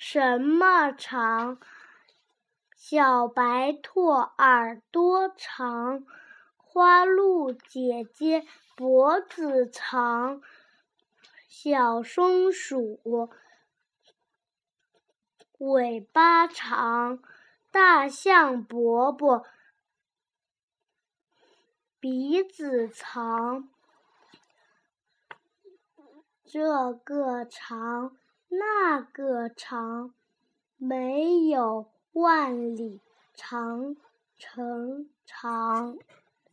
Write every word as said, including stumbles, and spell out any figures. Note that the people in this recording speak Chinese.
什么长？小白兔耳朵长，花鹿姐姐脖子长，小松鼠尾巴长，大象伯伯鼻子长。这个长，那个长，没有万里长城长。